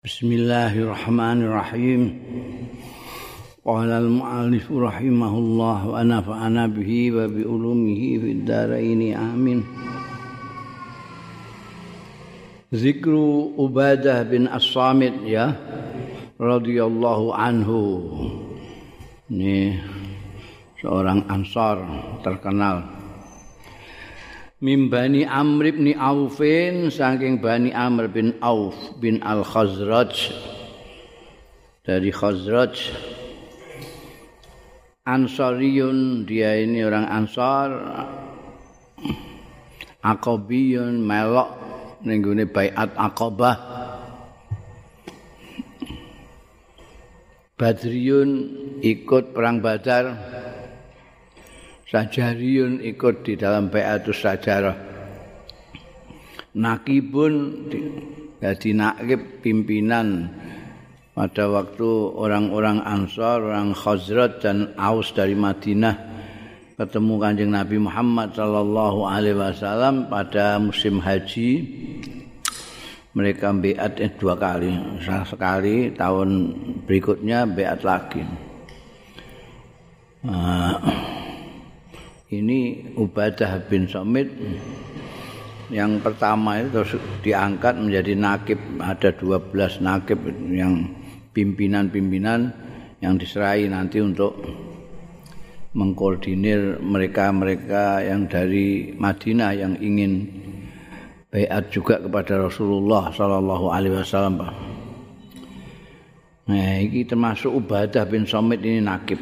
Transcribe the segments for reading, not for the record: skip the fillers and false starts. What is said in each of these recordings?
Bismillahirrahmanirrahim. Qala al-mu'allif rahimahullah wa nafa'ana bihi wa bi ulumihi fid dharain amin. Zikru Ubadah bin As-Samit ya radhiyallahu anhu. Ini seorang Ansar terkenal. Min Bani Amr bin Aufin, saking Bani Amr bin Auf bin Al-Khazraj, dari Khazraj. Ansariyun, dia ini orang Ansar. Aqabiyun, melok ning gone Baiat Aqabah. Badriyun, ikut perang Badar. Sajariyun, ikut di dalam Baiatus Sajarah. Nakibun, jadi nakib pimpinan pada waktu orang-orang Ansar, orang Khazraj dan Aus dari Madinah ketemu Kanjeng Nabi Muhammad sallallahu alaihi wasallam pada musim haji. Mereka baiat 2 kali, sekali tahun berikutnya baiat lagi. Ini Ubadah bin Samit yang pertama itu terus diangkat menjadi nakib. Ada 12 nakib yang pimpinan-pimpinan yang diserahi nanti untuk mengkoordinir mereka-mereka yang dari Madinah yang ingin baiat juga kepada Rasulullah sallallahu alaihi wasallam. Nah, ini termasuk Ubadah bin Samit ini nakib.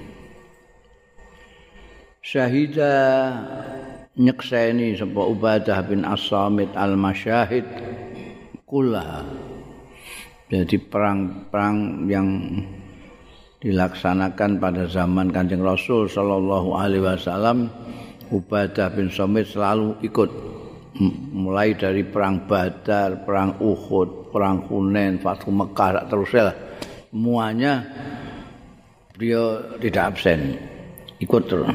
Syahida nyekseni sapa Ubadah bin As-Samit al-masyahid kullaha. Jadi perang-perang yang dilaksanakan pada zaman Kanjeng Rasul sallallahu alaihi wasallam, Ubadah bin Samit selalu ikut, mulai dari perang Badar, perang Uhud, perang Hunain, Fathu Mekah, teruslah semuanya beliau tidak absen, ikut terus.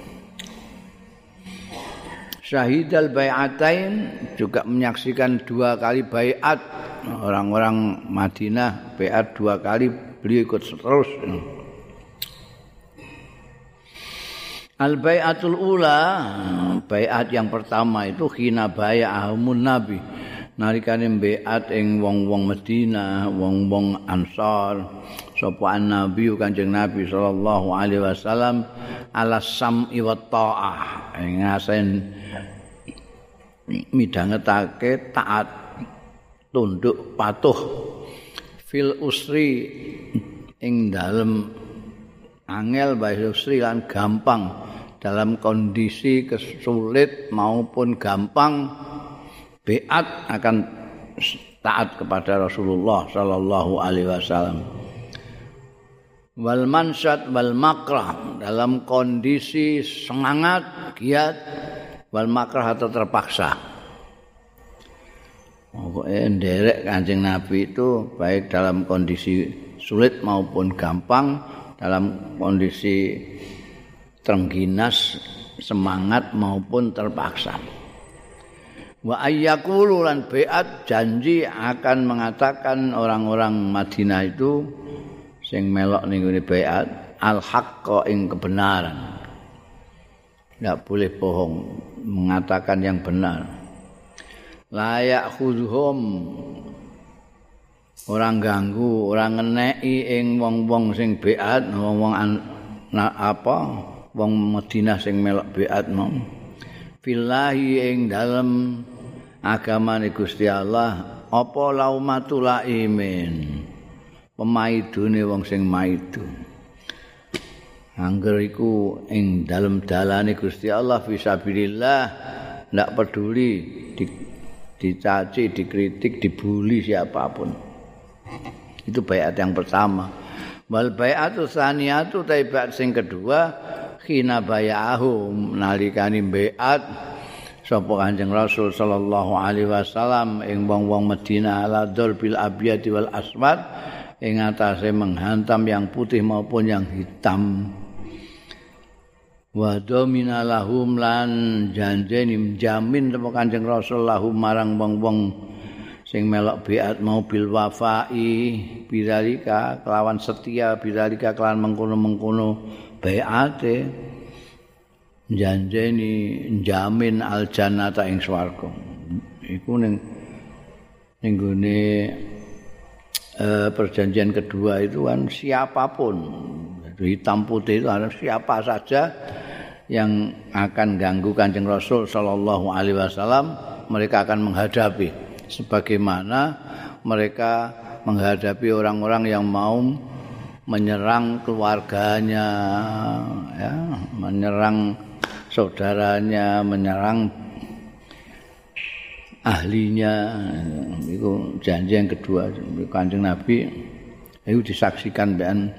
Syahid al-bai'atain, juga menyaksikan 2 kali baiat. Orang-orang Madinah baiat 2 kali, beliau ikut terus. Al-bai'atul ula, baiat yang pertama itu khina bai'ahumun nabi, nalikane baiat ing wong-wong Madinah, wong-wong Ansar, sapa Nabi Kanjeng Nabi sallallahu alaihi wasallam ala sam'i wa ta'ah, ngasen midhangetake taat, tunduk patuh fil usri ing dalem angel bae usri lan gampang, dalam kondisi kesulit maupun gampang baiat akan taat kepada Rasulullah sallallahu alaihi wasallam. Wal mansad wal makrah, dalam kondisi semangat giat, wal makrah atau terpaksa. Pokoknya nderek Kanjeng Nabi itu baik dalam kondisi sulit maupun gampang, dalam kondisi terengginas, semangat maupun terpaksa. Wa ayyaqulu lan baiat, janji akan mengatakan orang-orang Madinah itu sing melok ning ngene baiat al-haqqa ing kebenaran. Tidak boleh bohong, mengatakan yang benar. Layak khudhum, orang ganggu, orang ngeneki ing wong-wong sing baiat, wong-wong wong Madinah sing melok baiat mau. Fillahi ing dalem agamane Gusti Allah apa laumatul laimin, pemaidune wong sing maidu. Angger iku ing dalem dalane Gusti Allah fisabilillah, ndak peduli dicaci, dikritik, dibuli siapapun. Itu baiat yang pertama. Wal baiatu tsaniyatu, baiat sing kedua khina bayahum, nalikane baiat sapa Kanjeng Rasul sallallahu alaihi wasallam ing wong-wong Madinah ala dzulbil abyad wal aswad, ing atase menghantam yang putih maupun yang hitam. Wa domina lahum lan janjeni jamin sapa Kanjeng Rasul lahum marang wong-wong sing melok biat mau bil wafai bidzalika kelawan setia bidzalika kelawan mengkono-mengkono baiate janjeni jamin al jannata ing swarga iku ning gone perjanjian kedua itu kan siapapun hitam putih itu harus siapa saja yang akan ganggu Kanjeng Rasul sallallahu alaihi wasallam mereka akan menghadapi sebagaimana mereka menghadapi orang-orang yang mau menyerang keluarganya, ya, menyerang saudaranya, menyerang ahlinya. Itu janji yang kedua. Kanjeng Nabi itu disaksikan dengan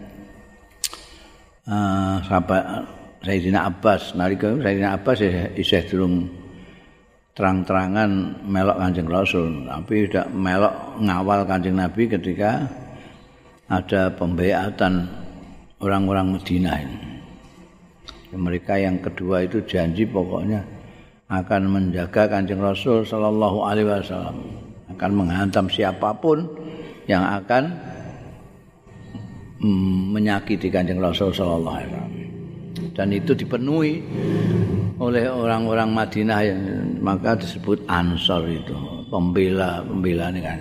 sahabat Sayyidina Abbas. Nalika Sayyidina Abbas isih durung terang-terangan melok Kanjeng Rasul, tapi tidak melok ngawal Kanjeng Nabi ketika ada pembayatan orang-orang Madinah ini. Mereka yang kedua itu janji pokoknya akan menjaga Kanjeng Rasul sallallahu alaihi wasallam, akan menghantam siapapun yang akan menyakiti Kanjeng Rasul sallallahu alaihi wasallam. Dan itu dipenuhi oleh orang-orang Madinah yang maka disebut Ansor itu, pembela ini kan.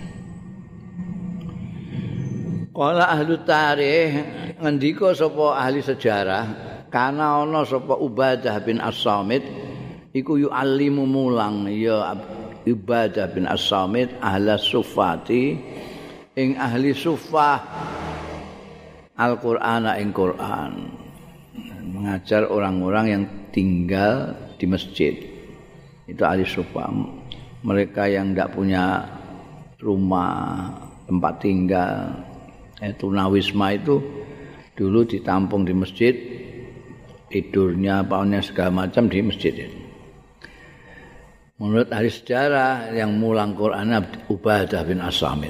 Qala ahli tarikh ngendika sapa ahli sejarah, kana ana sapa Ubadah bin As-Samit iku yu'allimu mulang ya Ubadah bin As-Samit ahla sufati ing ahli sufah Al-Qur'ana ing Qur'an. Mengajar orang-orang yang tinggal di masjid. Itu ahli sufah. Mereka yang tidak punya rumah, tempat tinggal, tunawisma itu dulu ditampung di masjid, tidurnya, apanya segala macam di masjid. Menurut ahli sejarah yang mulang Quran Ubadah bin As-Samit.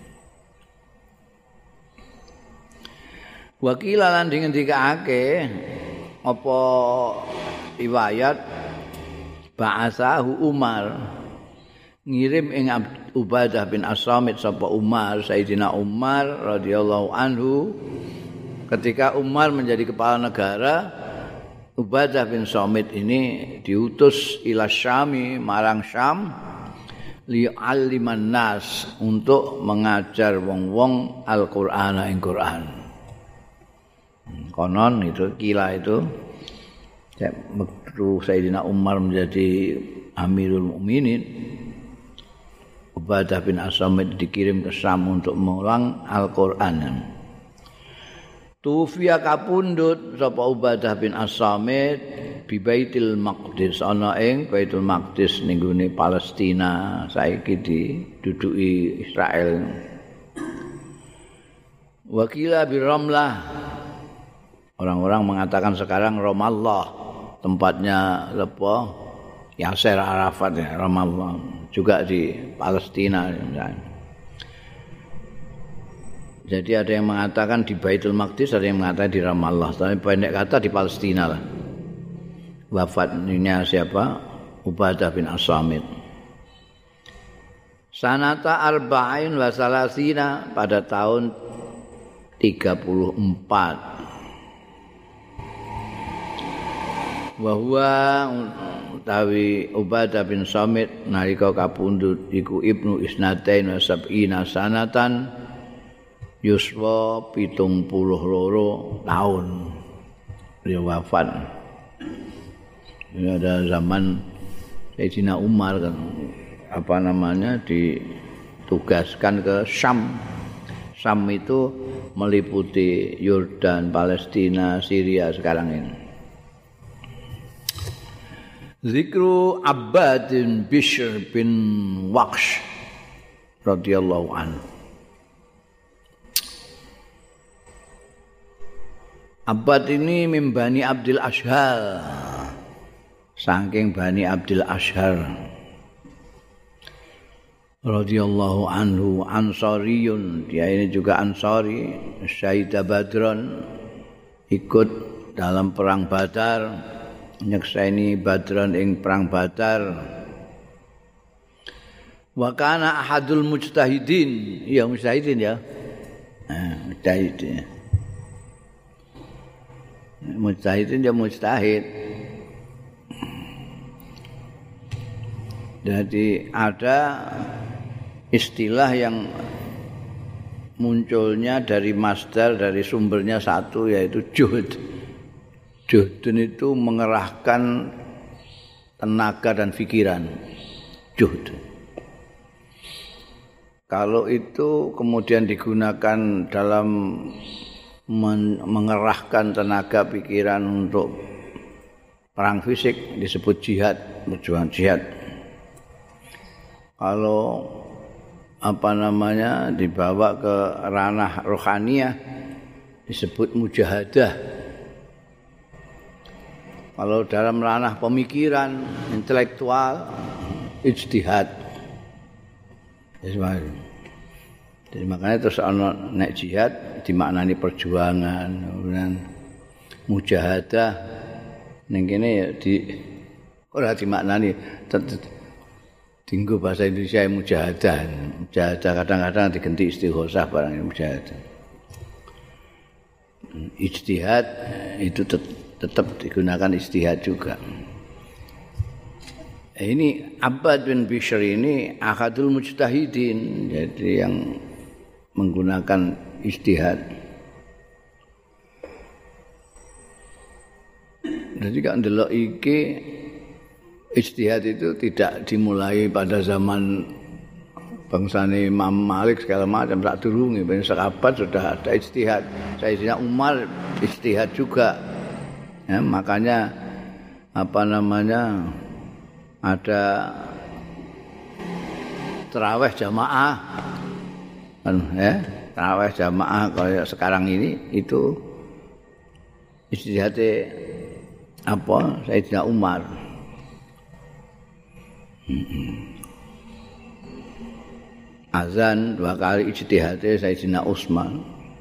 Wakila lan dingendikake apa riwayat ba'asahu Umar ngirim ing Ubadah bin As-Samit sapa Umar Sayyidina Umar radhiyallahu anhu ketika Umar menjadi kepala negara Ubadah bin Samit ini diutus ila Syami marang Syam li'alliman nas untuk mengajar wong-wong Al-Qur'ana ing Qur'an. Konon itu kila itu waktu Sayyidina Umar menjadi Amirul Mukminin Ubadah bin As-Samit dikirim ke Syam untuk mengulang Al-Qur'an. Tufiya kapundhut sapa Ubadah bin As-Samit bi Baitul Maqdis ana ing Baitul Maqdis ning gone Palestina saiki diduduki Israel. Wakila bi Ramlah. Orang-orang mengatakan sekarang Ramallah tempatnya apa? Yasser Arafat ya, Ramallah juga di Palestina misalnya. Jadi ada yang mengatakan di Baitul Maqdis, ada yang mengatakan di Ramallah, tapi pendek kata di Palestina lah. Wafatnya siapa? Ubadah bin As-Samit. Sanata arba'in wa salasina pada tahun 34. Bahwa utawi Ubadah bin Samit nalika kapundhut iku Ibnu Isnatain wa sab'ina sanatan yuswa 72 tahun dia wafat. Ini ada zaman Sayyidina Umar kan ditugaskan ke Syam. Syam itu meliputi Yordan, Palestina, Syria sekarang ini. Zikru Abbad bin Bishr bin Waqsh radhiyallahu anhu. Abbad ini min Bani Abdul Ashhar. Saking Bani Abdul Ashhar. Radhiyallahu anhu Ansariyun, dia ini juga Ansari, Syahida Badron, ikut dalam perang Badar, nyekseni Badron ing perang Badar. Wa kana ahadul mujtahidin. Ya mujtahidin ya. Mujtahidin. Mujtahidin ya mujtahid. Jadi ada istilah yang munculnya dari masdar, dari sumbernya satu, yaitu juhd. Juhdun itu mengerahkan tenaga dan pikiran. Juhd. Kalau itu kemudian digunakan dalam mengerahkan tenaga pikiran untuk perang fisik, disebut jihad, perjuangan jihad. Kalau dibawa ke ranah rohaniyah disebut mujahadah. Kalau dalam ranah pemikiran intelektual ijtihad. Jadi makanya terus ana nek jihad dimaknani perjuangan, kemudian mujahadah ning kene ya ora dimaknani dinggo bahasa Indonesia mujahadah. Mujahadah kadang-kadang diganti istighosah barang mujahadah. Ijtihad itu tetap digunakan ijtihad juga. Ini Abbad bin Bishr ini ahadul mujtahidin, jadi yang menggunakan ijtihad. Jadi kan ndelok iki ijtihad itu tidak dimulai pada zaman bangsane Imam Malik segala macam, tak durunge ben sahabat sudah ada ijtihad. Sayyidina Umar ijtihad juga. Ya, makanya ada tarawih jamaah kan ya, tarawih jamaah kayak sekarang ini itu ijtihadnya Sayyidina Umar. Azan 2 kali ijtihadnya Sayyidina Utsman.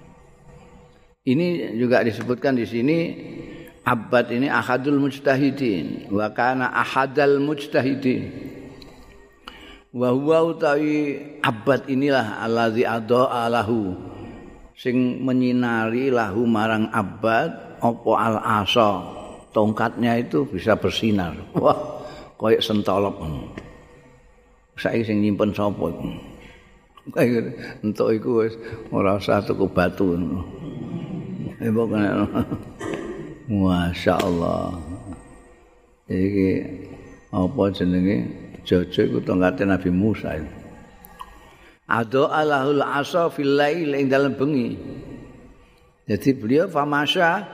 Ini juga disebutkan di sini Abbad ini ahadul mujtahidin wa kana ahadal mujtahidin. Wa huwa utawi Abbad inilah allazi adaa lahu sing menyinari lahu marang Abbad apa al-asa, tongkatnya itu bisa bersinar. Wah, koyo sentolop. Saiki sing nyimpen sapa iku? Kayak entuk iku wis ora usah tuku batu. Pokoknya Masya Allah. Iki apa jenenge? Jojo iku tongkate Nabi Musa. Ado alahul asa fil lail ing dalem bengi. Jadi beliau famasya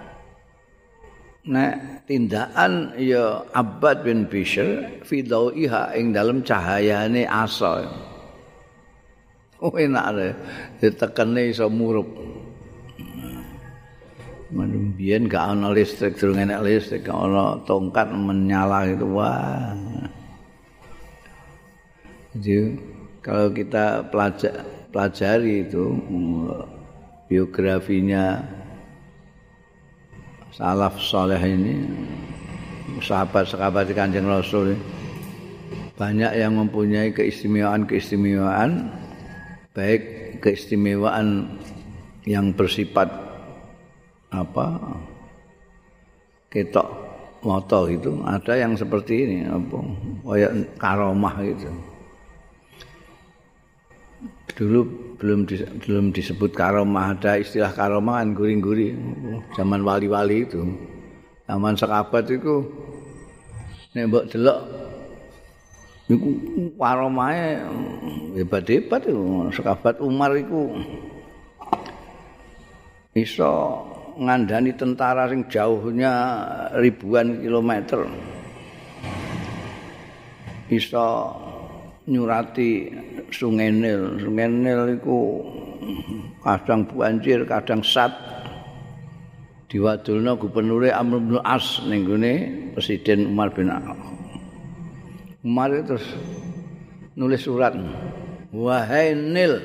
nek tindakan ya Abbad bin Bishr fi dau'iha ing dalem cahayane asa. Oh enak le ditekene iso murup. Mbiyen gak ana listrik, durung enek listrik, gak ana tongkat menyala itu wah. Jadi kalau kita pelajari itu biografinya salaf saleh ini, sahabat-sahabat Kanjeng Rasul ini, banyak yang mempunyai keistimewaan, baik keistimewaan yang bersifat ketok moto itu, ada yang seperti ini kayak karomah gitu. Dulu belum disebut karomah, ada istilah karomah kan guri-guri zaman wali-wali itu. Zaman sahabat itu nek mbok delok niku karomahe hebat-hebat itu. Sahabat Umar iku iso ngandani tentara sing jauhnya ribuan kilometer, iso nyurati Sungai Nil. Sungai Nil iku kadang banjir, kadang sat. Diwadulna gubernure Amr bin As ning gone Presiden Umar bin Khattab. Umar terus nulis surat, "Wahai Nil,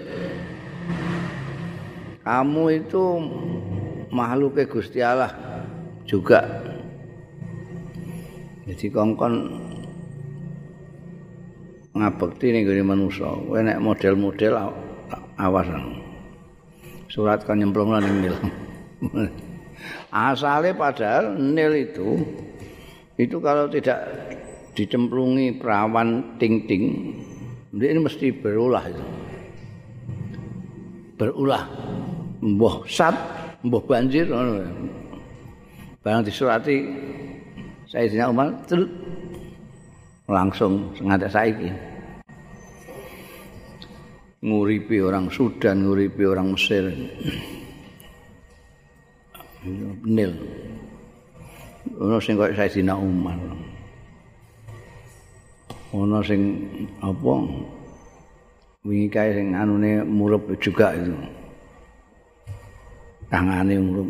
kamu itu makhluk Gusti Allah juga. Jadi kongkon ngabekti ning gone manusa. Kowe nek model-model awas. Surat kan nyemplung ning nil. Asale padahal nil itu kalau tidak dicemplungi perawan ting-ting, ini mesti berulah itu. Berulah. Mbah sat, mbah banjir ngono. Barang disurati Sayyidina Umar langsung ngantek saiki. Nguripi orang Sudan, nguripi orang Mesir. Nil. Ono sing kaya Sayyidina Umar. Ono sing apa? Wingi kae sing anune murup juga itu. Tangane murup.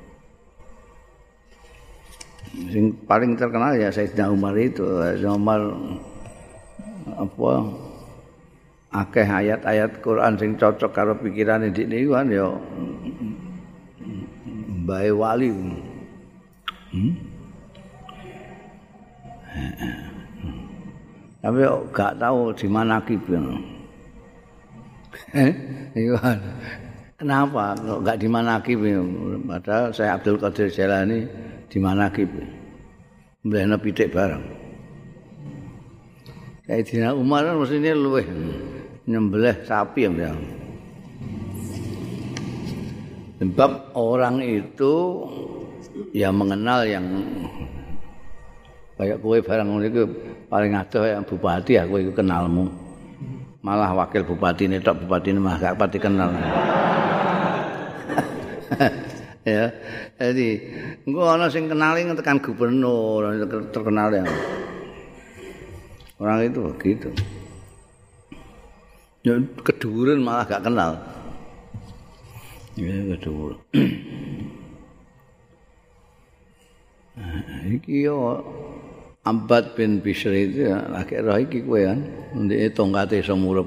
Sing paling terkenal ya Sayyidina Umar itu. Sayyidina Umar apa? Akeh ayat-ayat Quran sing cocok karo pikirane dik niku kan ya mbae wali. Tapi gak tahu di mana kibul. Iya. Kenapa kok gak di mana kibul? Padahal saya Abdul Qadir Jailani di mana kibul. Mblehna pitik bareng. Sayyidina Umar mestine luweh nyembelih sapi ya. Sebab orang itu ya mengenal yang kayak kowe barang ngono iku paling adoh yang bupati ya kowe iku kenalmu. Malah wakil bupati ini tok bupatine mah gak pati kenal. Ya. Jadi engko ana sing kenali tekan gubernur terkenal ya. Orang itu begitu. Ya keduren malah gak kenal. Ya keduren. Iki yo Abbad bin Bishr itu ya, lagi roh iki kowe kan, ndek tongkate iso murup.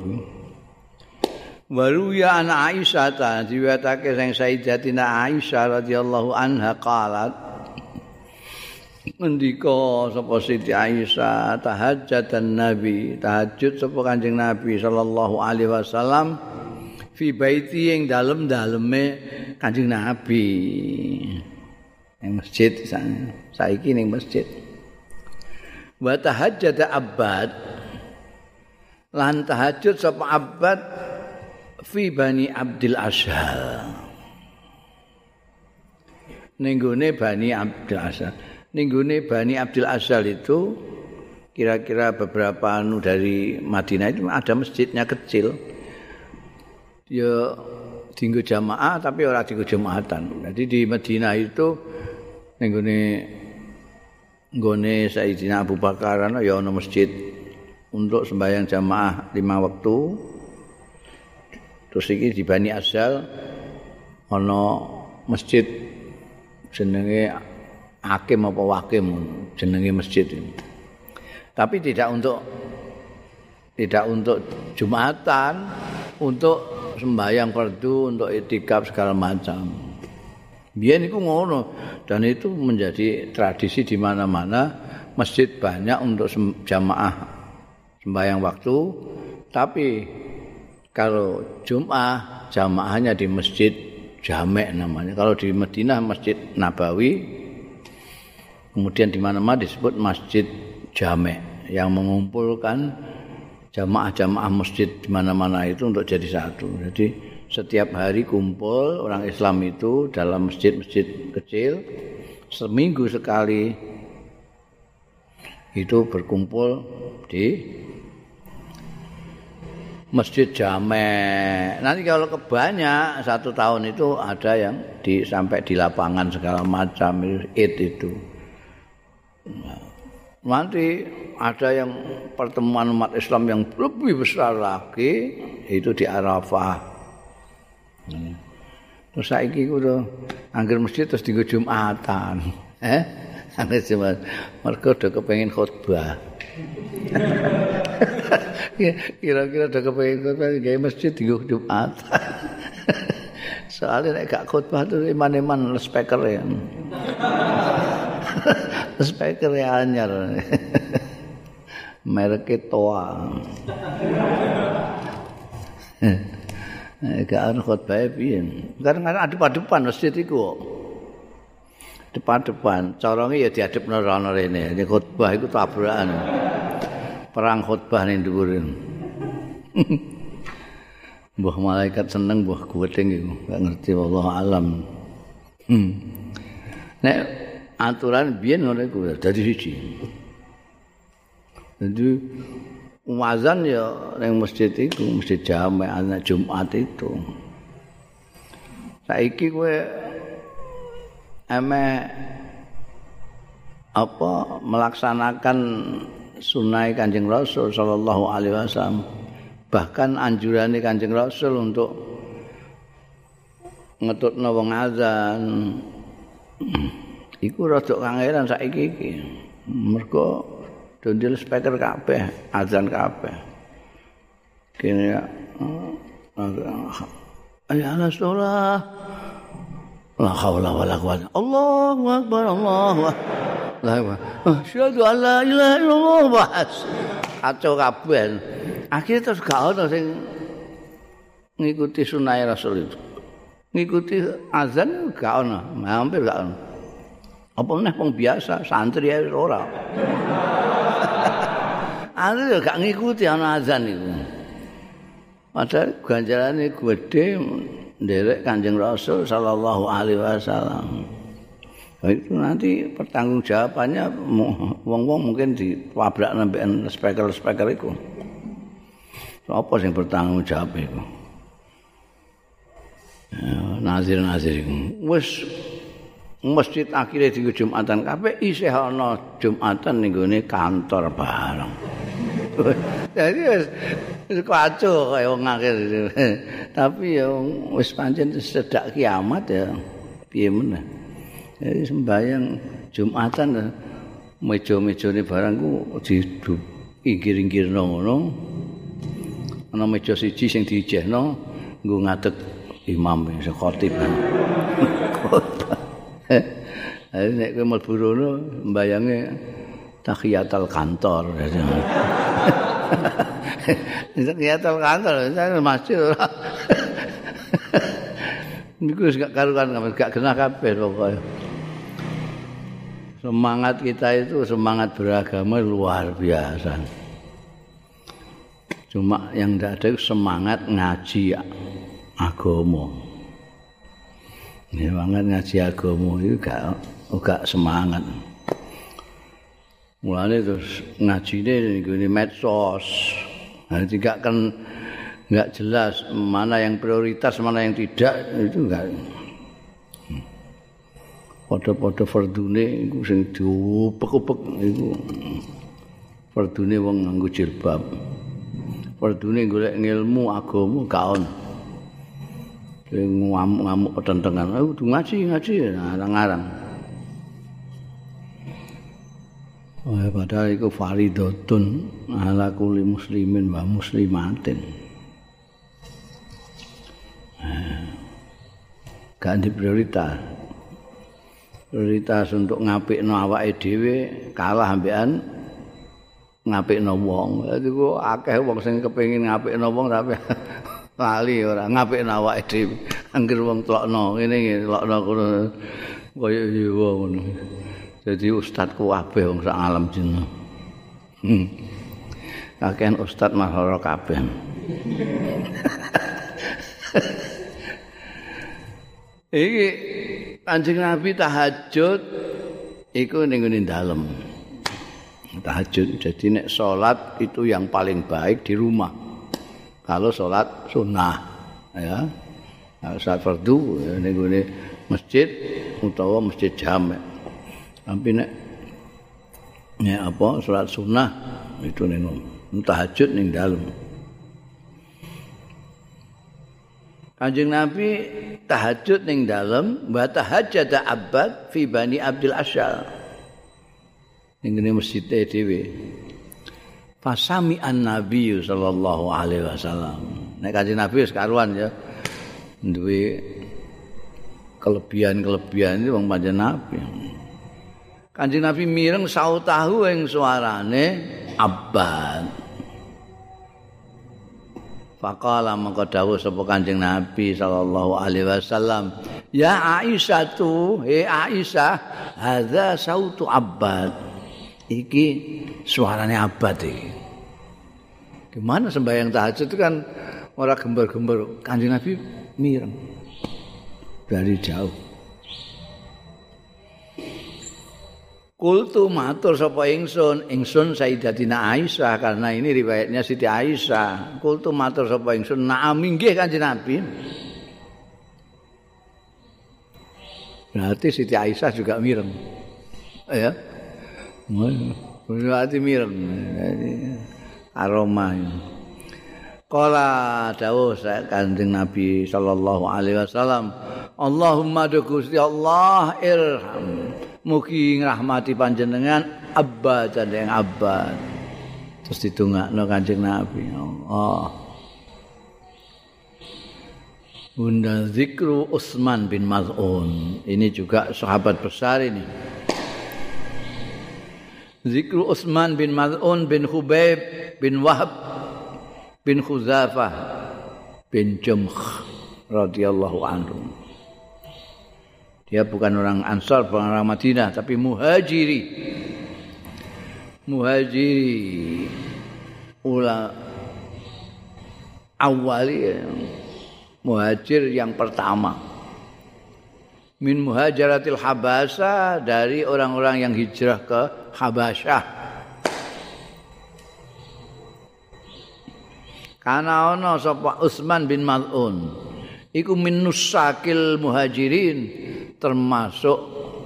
Waru ya ana Aisyah ta diwetake sing Sayyidatina Aisyah radhiyallahu anha qalat ngendika sapa Siti Aisyah tahajjatan Nabi tahajud sapa Kanjeng Nabi sallallahu alaihi wasallam fi baiti ing dalem-daleme Kanjeng Nabi ning masjid saiki ning masjid wa tahajjada Abbad lan tahajud sapa Abbad fi Bani Abdil Ashal ning gone Bani Abdil Ashal. Ninggune Bani Abdil Ashal itu kira-kira beberapa dari Madinah itu ada masjidnya kecil. Ya dienggo jamaah tapi ora dienggo jamaatan. Jadi di Madinah itu nggone Sayyidina Abu Bakar ya ana masjid untuk sembahyang jamaah 5 waktu. Terus iki di Bani Ashal ana masjid jenenge Hakim apa Wakim jenenge masjid ini. Tapi tidak untuk Jumatan, untuk sembahyang fardu, untuk itikaf segala macam. Biyen iku ngono dan itu menjadi tradisi di mana-mana masjid banyak untuk jamaah sembahyang waktu, tapi kalau Jumat jamaahnya di Masjid Jami' namanya. Kalau di Madinah Masjid Nabawi, kemudian di mana-mana disebut Masjid Jami' yang mengumpulkan jamaah-jamaah masjid di mana-mana itu untuk jadi satu. Jadi setiap hari kumpul orang Islam itu dalam masjid-masjid kecil, seminggu sekali itu berkumpul di Masjid Jami'. Nanti kalau kebanyak 1 tahun itu ada yang sampai di lapangan segala macam Id itu. Nanti ada yang pertemuan umat Islam yang lebih besar lagi itu di Arafah. Terus saiki kudu angger masjid terus dienggo Jumatan. Angger Jumat. Mergo do kepengin khotbah. Kira-kira do kepengin khotbah gawe masjid dienggo Jumatan. Soalnya nek gak khotbah itu iman-iman speaker ya. Speaker anyar. mereke Toa. Gak ana khotbah piye. Kadang-kadang adep-adepan masjid iku. Depan-depan, carane ya diadepno rono rene. Nek khotbah iku tabrakan. Perang khotbah ning dhuwur. Mbah malaikat seneng mbah guweting iku, gak ngerti wallahu alam. Nek aturan biyen ngono iku dadi siji. Jadi wazan ya ning masjid iku, masjid Jami' ana Jumat itu. Saiki kowe melaksanakan sunnah Kanjeng Rasul sallallahu alaihi wasallam. Bahkan anjurane Kanjeng Rasul untuk ngetutno wong azan iku rada kangelan saiki iki. Mergo dondel speaker kabeh, azan kabeh. Kene ya ala sholah. La haula wala quwwata. Allahu akbar, Allahu akbar. Asyhadu an la ilaha illallah bahas. Kacau kabeh. Akhirnya terus gak ono sing ngikuti sunah Rasul itu. Ngikuti azan gak ono, hampir gak ono. Apa meneh wong biasa, santri ae ora. Ada gak ngikuti ana azan itu. Padahal ganjarane gede nderek Kanjeng Rasul sallallahu alaihi wasallam. Itu nanti pertanggungjawabannya wong-wong mungkin ditabrak nembekan speaker-speaker itu. Apa sing bertanggung jawab iku? Nazir-nazir iku. Wis masjid akhire di Jumatan kabeh isih ana Jumatan ning gone kantor bareng. Jadi wis kacau kaya wong akhir. Tapi ya wis pancen sedak kiamat ya piye meneh. Jadi sembahyang Jumatan meja-mejane barangku diinggir-inggirno ngono. Ana meja siji sing diijehno nggo ngadeg imam sing khatib. Nek kowe mlebu rono mbayange tahiyatul kantor. Tahiyatul kantor masjid ora. Niku wis gak karuan, gak genah kabeh pokoke. Semangat kita itu semangat beragama luar biasa. Cuma yang tidak ada semangat ngaji agama. Semangat ngaji agama itu gak semangat. Mulane terus ngajine nggone medsos. Nah, tidak kan enggak jelas mana yang prioritas, mana yang tidak, itu enggak. Padha-padha fardune iku sing diupek-upek iku. Fardune wong nganggo jilbab. Fardune golek ilmu agama gak ono. Ngamuk-ngamuk petentengan. Kudu ngaji arang-arang. Padahal itu faridatun ala kulli muslimin wa muslimatin. Gak di prioritas. Prioritas untuk ngapikno awake dhewe kalah ambekan ngapikno wong. Dadi kok akeh wong sing kepengin ngapikno wong tapi lali ora ngapikno awake dhewe. Angger wong tlokno ngene tlokno kono kaya iya ngono. Jadi ustadku kabeh wong sak alam jin. Kakean ustad mahara kabeh. Iki Kanjeng Nabi tahajud iku ning ngene dalem. Tahajud jadi nek salat itu yang paling baik di rumah. Kalau salat sunnah ya. Salat fardu ning ngene masjid utawa masjid Jami'. Tapi nek salat sunnah itu ning tahajud ning dalem. Kanjeng Nabi tahajud ning dalem wa tahajjada Abbad fi Bani Abdul Asyal. Ning ngene masjid dhewe. Fasami an-Nabi sallallahu alaihi wasallam. Nek Kanjeng Nabi wis karuan ya. Duwe kelebihan-kelebihan itu wong pancen Nabi. Kanjeng Nabi mireng sautahu ing suarane Abbad. Faqala mangko dawuh sapa Kanjeng Nabi sallallahu alaihi wasallam, "Ya Aisyah tu, Aisyah, hadza sautu Abbad." Iki suarane Abbad iki. Gimana sembahyang tahajud itu kan ora gembar-gembar, Kanjeng Nabi mireng dari jauh. Kultu matur sapa ingsun Sayyidatina Aisyah, karena ini riwayatnya Siti Aisyah. Kultu matur sapa ingsun, "Na'am inggih Kanjeng Nabi." Berarti Siti Aisyah juga mireng. Ya. Berarti mireng. Aroma. Qala dawuh Kanjeng Nabi sallallahu alaihi wasallam, "Allahumma Gusti Allah irham." Mugi ngrahmati panjenengan Abba dan Abba. Terus ditungakno Kanjeng Nabi. Allah. Bunda zikru Utsman bin Maz'un. Ini juga sahabat besar ini. Zikru Utsman bin Maz'un bin Khubayb bin Wahab bin Khuzafah bin Jumh radhiyallahu anhu. Dia bukan orang Ansar, bukan orang Madinah, tapi muhajiri. Muhajiri awali, muhajir yang pertama. Min muhajaratil Habasyah, dari orang-orang yang hijrah ke Habasyah. Kana ana sapa Utsman bin Maz'un iku min nusakil muhajirin, termasuk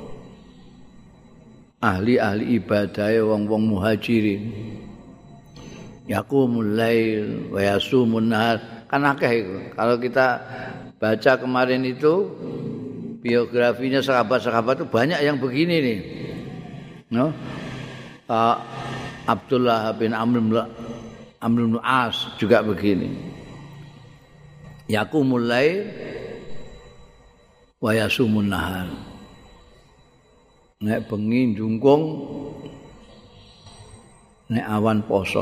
ahli-ahli ibadah wong-wong muhajirin. Yaqumul lail wa yasumun nahar. Kan akeh itu. Kalau kita baca kemarin itu biografinya sahabat-sahabat itu banyak yang begini nih. No? Abdullah bin Amr bin As juga begini. Yaqumul lail wa yasumun nahar. Nek bengi njungkung, nek awan poso.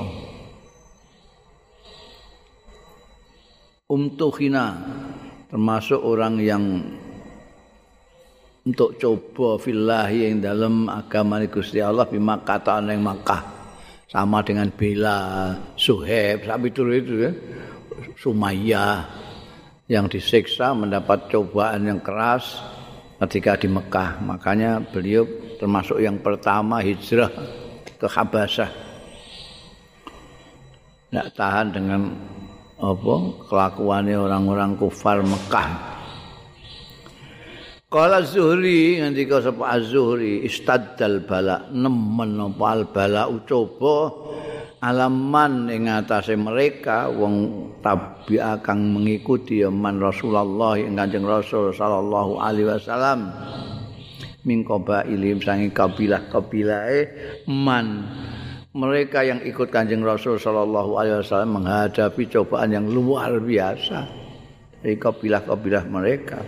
Umtuhina, termasuk orang yang untuk coba fillahi yang dalam agama Gusti Allah bima kata yang Makkah, sama dengan Bela, Suhaib, sampai itu ya. Sumayyah yang disiksa mendapat cobaan yang keras ketika di Mekah. Makanya beliau termasuk yang pertama hijrah ke Habasyah. Tidak tahan dengan kelakuannya orang-orang kufar Mekah. Qala Zuhri, ngendika sapa Az-Zuhri, istaddal bala, nemen apa al bala ucoba alaman ing atase mereka wong tabi'a kang mengikuti man Rasulullah ing Kanjeng Rasul sallallahu alaihi wasallam min qabailim sange kabilah-kabilahe man mereka yang ikut Kanjeng Rasul sallallahu alaihi wasallam menghadapi cobaan yang luar biasa dari kabilah-kabilah mereka.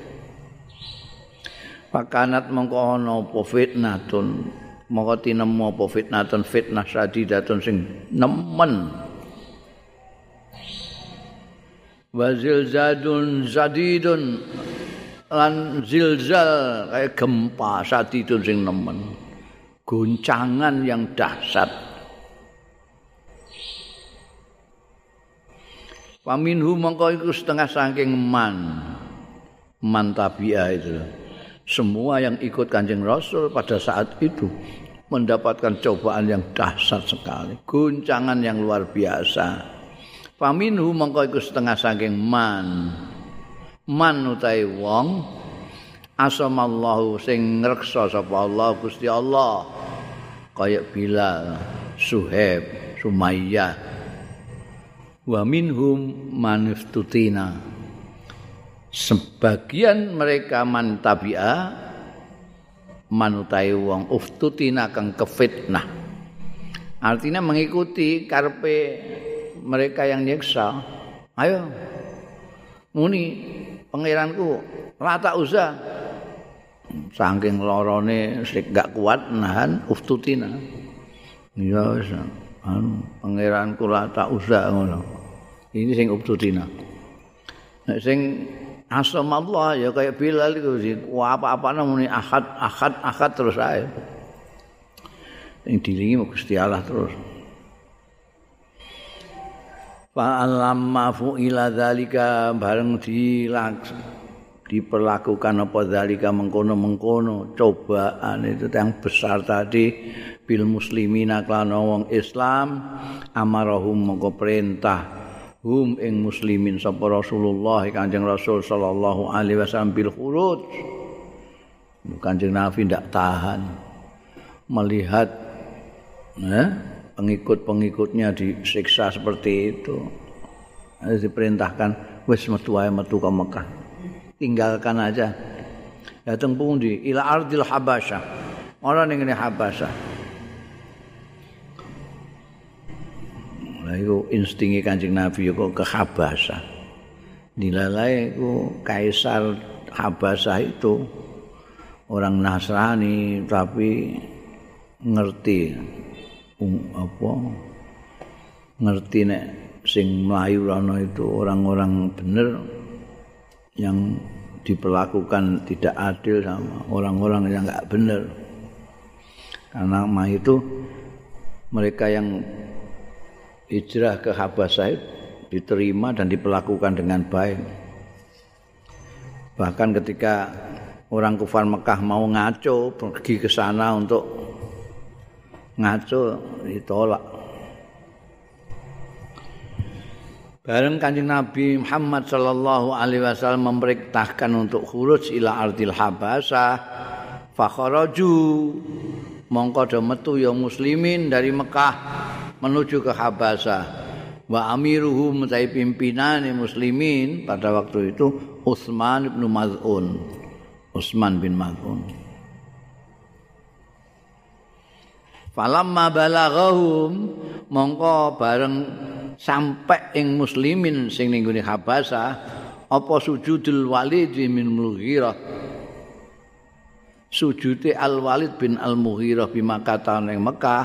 Pakanat mongko ana apa fitnatun, mongko tinemu apa fitnatun, fitnah sadidatun sing nemen. Wa zilzadun sadidun, lan zilzal kayak gempa sadidun sing nemen. Goncangan yang dahsyat. Paminhu mongko iku setengah saking man tabi'ah itu. Semua yang ikut Kanjeng Rasul pada saat itu mendapatkan cobaan yang dahsyat sekali, guncangan yang luar biasa. Faminhu mongko iku setengah saking man utai wong asamallahu sing ngreksa sapa Allah Gusti Allah, kaya Bilal, Suhaib, Sumayyah. Wa minhum maniftutina, sebagian mereka man tabi'a manutai wong uftutina kang kefitnah, artinya mengikuti karepe mereka yang nyiksa. Ayo muni pangeranku rata usah, saking lorone sik gak kuat nahan uftutina. Ya wis pangeran kula tak usah ngono. Ini sing ubtutina. Nek sing asamallah ya kayak Bilal itu apa-apa namanya ahad terus ae. Sing dilingi Gusti Allah terus. Fa'alamma fu'ila dzalika bareng diperlakukan apa dzalika mengkono-mengkono cobaan itu yang besar tadi bil muslimina lan wong Islam amarahum mongko perintah hum ing muslimin sapa Rasulullah Kanjeng Rasul sallallahu alaihi wasallam bil khuruj. Kanjeng Nabi ndak tahan melihat pengikut-pengikutnya disiksa seperti itu. Harus diperintahkan wis metu ae metu ke Mekah. Tinggalkan aja. Datang pundi ila ardil Habasyah. Ora ning ngene Habasyah. Lah iku instinge Kanjeng Nabi kok ke Habasyah. Dilalai iku kaisar Habasyah itu orang Nasrani tapi ngerti ngerti nek sing mlayu ana itu orang-orang bener yang diperlakukan tidak adil sama orang-orang yang enggak benar. Karena itu mereka yang hijrah ke Habasyah diterima dan diperlakukan dengan baik. Bahkan ketika orang kufar Mekah mau ngaco pergi ke sana untuk ngaco ditolak. Bareng Kanjeng Nabi Muhammad sallallahu alaihi wasallam memerintahkan untuk khuruj ila ardil Habasyah, fa kharaju mongko do metu ya muslimin dari Mekah menuju ke Habasyah. Wa amiruhum tai pimpinane muslimin pada waktu itu Utsman bin Maz'un. Utsman bin Maz'un. Falamma balaghahum mongko bareng sampai ing muslimin sing ning gone Habasyah apa sujudul Walid bin Mughirah. Sujude Al Walid bin Al Mughirah bi Makkah ning Mekah.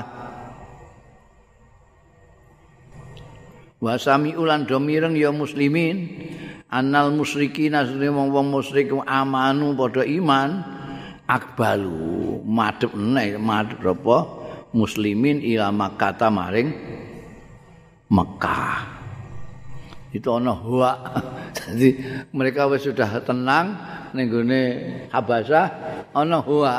Wa sami'ulan do mireng ya muslimin annal musyrikin asline wong musyrik amanu padha iman akbalu madhep apa muslimin ila Makkah maring Mekah. Itu ana huwa. Jadi mereka wis sudah tenang ning gone Habasyah ana huwa.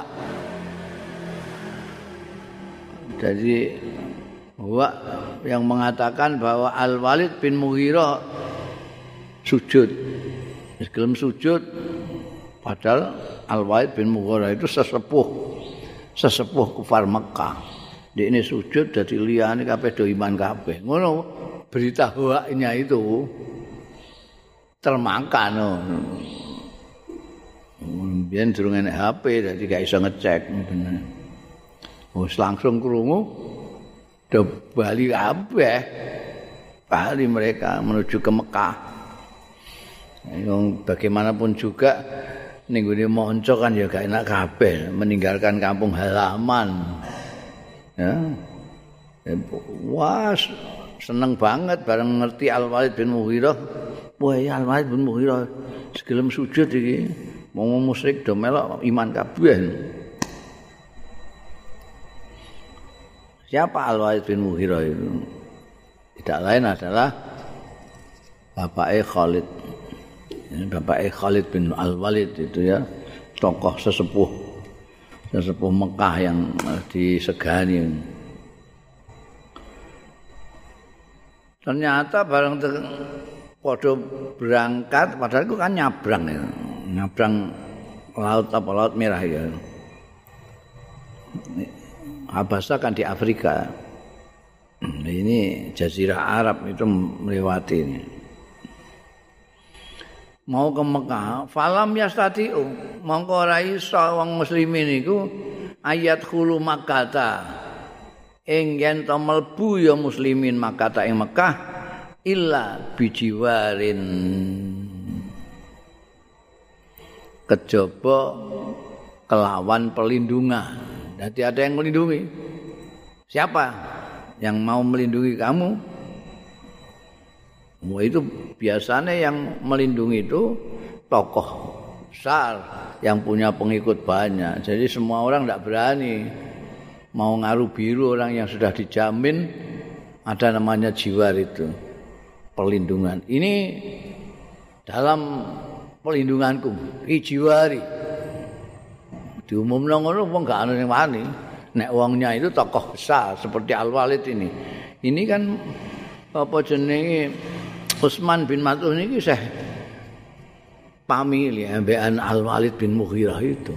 Jadi huwa yang mengatakan bahwa Al Walid bin Mughirah sujud. Gelem sujud padahal Al Walid bin Mughirah itu sesepuh kufar Mekah. Dia ini sujud dadi liyane kabeh do iman kabeh. Ngono berita hoaknya itu termakan. Biyen durung enek HP dadi gak iso ngecek bener. Wis langsung krungu do bali kabeh. Bali mereka menuju ke Mekah. Yang bagaimanapun juga ning gone monco kan ya gak enak kabeh meninggalkan kampung halaman. Ya. Wah, seneng banget bareng ngerti Al Walid bin Mughirah. Wah, ya Al Walid bin Mughirah segelem sujud iki. Wong musyrik do melok iman kabeh. Siapa Al Walid bin Mughirah itu? Tidak lain adalah bapaknya Khalid. Bapaknya Khalid bin Al Walid itu ya, tokoh sesepuh Mekah yang disegani. Ternyata bareng padha berangkat padahal itu kan nyabrang laut merah ya. Habasyah kan di Afrika. Ini Jazirah Arab itu melewati ini. Mau ke Mekah, falam yastati'u mongko ora iso wong muslimin iku ayat khulu Makkah. Ing yen to mlebu ya muslimin Makkah ing Mekah illa bijiwarin. Kejaba kelawan perlindungan. Jadi ada yang melindungi. Siapa? yang mau melindungi kamu. Wah, itu biasanya yang melindungi itu tokoh besar yang punya pengikut banyak. Jadi semua orang tidak berani mau ngaruh biru orang yang sudah dijamin ada namanya jiwar itu perlindungan. Ini dalam perlindunganku, jiwari. Diumumno ngono wong gak ana sing wani. Nek wongnya itu tokoh besar seperti Al-Walid ini. Ini kan apa jenenge Utsman bin Maz'un ini saya pamili ambekan Al-Walid bin Mughirah itu.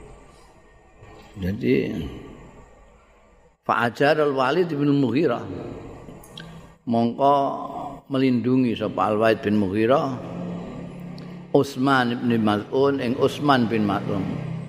Jadi Fa'ajar Al-Walid bin Mughirah mongko melindungi sapa Al-Walid bin Mughirah Utsman bin Maz'un ing Utsman bin Maz'un.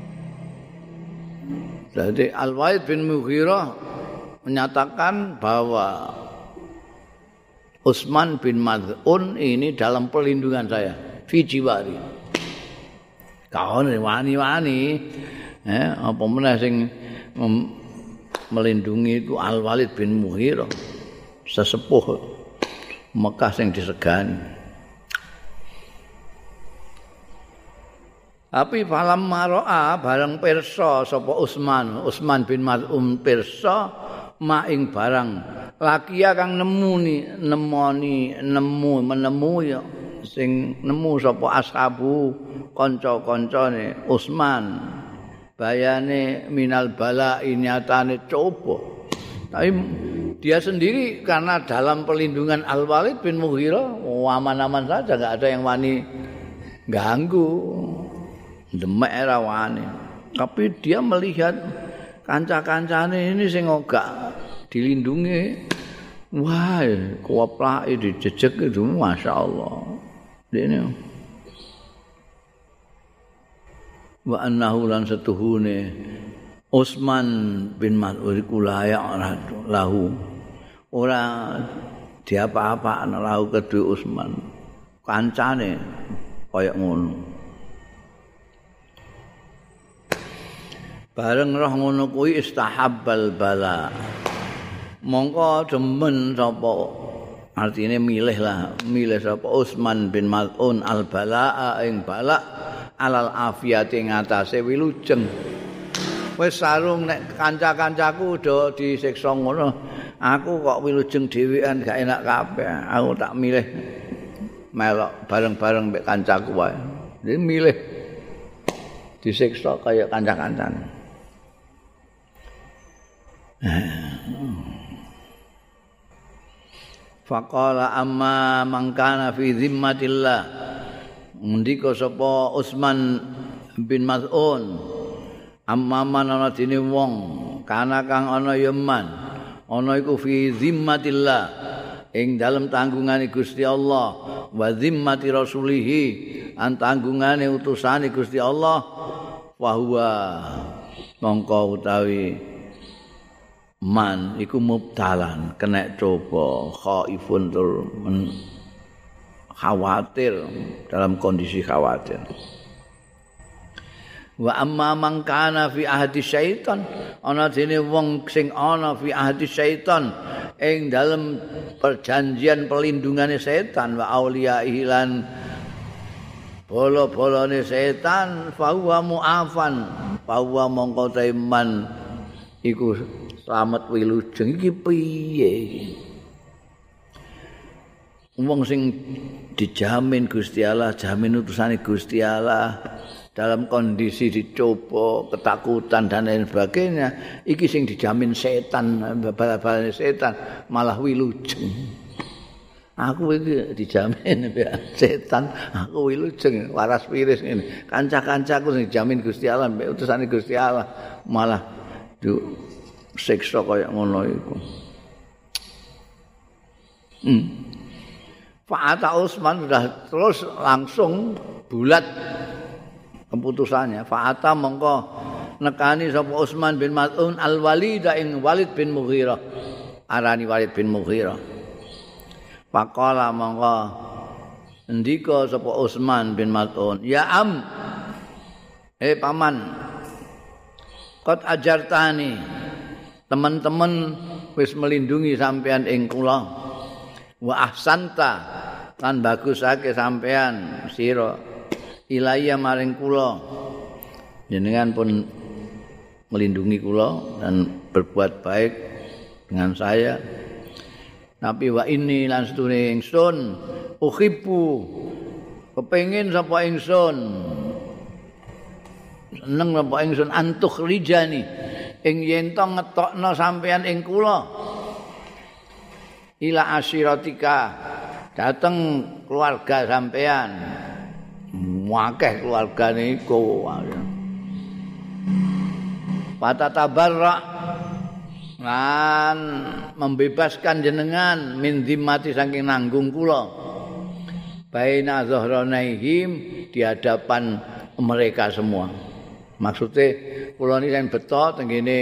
Jadi Al-Walid bin Mughirah menyatakan bahwa Utsman bin Maz'un ini dalam perlindungan saya, fi jiwari. Kaon wani-wani, apa meneh sing melindungi itu Al-Walid bin Mughirah, sesepuh Mekah sing disegani. Tapi falam maro'a barang pirsa sapa Utsman bin Maz'un pirsa maing barang lakia kang menemu ya sing nemu sapa ashabu kanca-kancane Utsman bayane minal bala nyatane coba. Tapi dia sendiri karena dalam perlindungan Al-Walid bin Mughirah aman-aman saja, enggak ada yang wani ganggu. Demek era wani. Tapi dia melihat kanca-kancane ini sing gak dilindungi. Wah, kuaplake dijejek itu masyaallah. Dene. Wa annahu lan setuhune Utsman bin Maz'un iku layak lahu. Ora diapa-apakno lahu kedue Utsman. Kancane kaya ngono. Bareng roh ngono kuwi istahabbal bala. Mongko demen sapa artine milih sapa Utsman bin Maz'un al balaa ing bala alal afiyati ngatasé wilujeng. Wis sarung nek kanca-kancaku do disiksa ngono, aku kok wilujeng dhewean gak enak kabeh. Aku tak milih melok bareng-bareng mek kancaku wae. Jadi milih disiksa kaya kanca-kancane. Faqala amma man kana fi zimmatillah. Ndika sapa Utsman bin Maz'un. Amma man ana dene wong kana kang ana ya man. Ana iku fi zimmatillah ing dalem tanggungane Gusti Allah wa zimmati rasulihi an tanggungane utusane Gusti Allah wa huwa mongko utawi man iku mubtalan kena coba khaifun tur khawatir dalam kondisi khawatir. Wa amma man kana fi ahdi syaitan ana dene wong sing ana fi ahdi syaitan ing dalam perjanjian pelindungane setan wa auliyahi lan bolo-bolone setan fa huwa mu'afan fa huwa mongko taiman iku selamat wilujeng iki piye iki? Wong sing dijamin Gusti Allah, jamin utusane Gusti Allah dalam kondisi dicoba, ketakutan dan lain sebagainya, iki sing dijamin setan, bal-balane setan malah wilujeng. Aku iki dijamin setan, aku wilujeng, waras wiris ngene. Kanca-kancaku sing dijamin Gusti Allah, utusane Gusti Allah malah siksa kaya ngono iku. Fa'ata Utsman sudah terus langsung bulat keputusannya. Fa'ata mongko nekani sapa Utsman bin Maz'un al-Walid ing Walid bin Mughirah. Arani Walid bin Mughirah. Faqala mongko ndika sapa Utsman bin Maz'un, "Ya am, paman, qad ajartani." Teman-teman wis melindungi sampean ing kula wa ahsanta lan bagusake sampean sira ilaya maring kula jenengan pun melindungi kula dan berbuat baik dengan saya tapi wa ini lan setune ingsun uhibbu kepengin sapa ingsun seneng sapa ingsun antuk rijani ing yen to ngetokno sampean ing kula ila asyiratika dateng keluarga sampean akeh keluargane iku patatabarra lan membebaskan jenengan min zimmati saking nanggung kula baina zahranaihim di hadapan mereka semua maksudnya kula niki sing beto tengene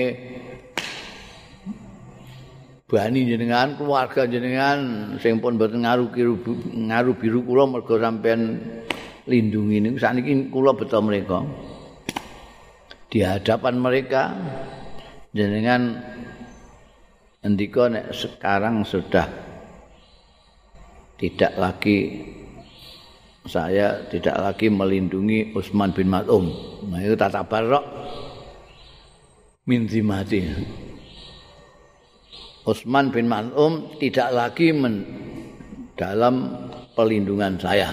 bani jenengan keluarga jenengan sing pun mboten ngaru biru kula mergo sampean lindungi niku sakniki kula beto mereka di hadapan mereka jenengan ndika nek sekarang sudah tidak lagi saya tidak lagi melindungi Utsman bin Maz'un. Nah itu tata barok min zimati. Utsman bin Maz'un tidak lagi dalam pelindungan saya.